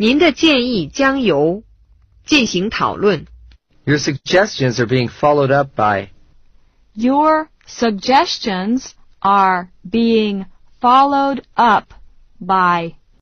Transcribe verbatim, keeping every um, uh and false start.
您的建议将由进行讨论。 Your suggestions are being followed up by. Your suggestions are being followed up by.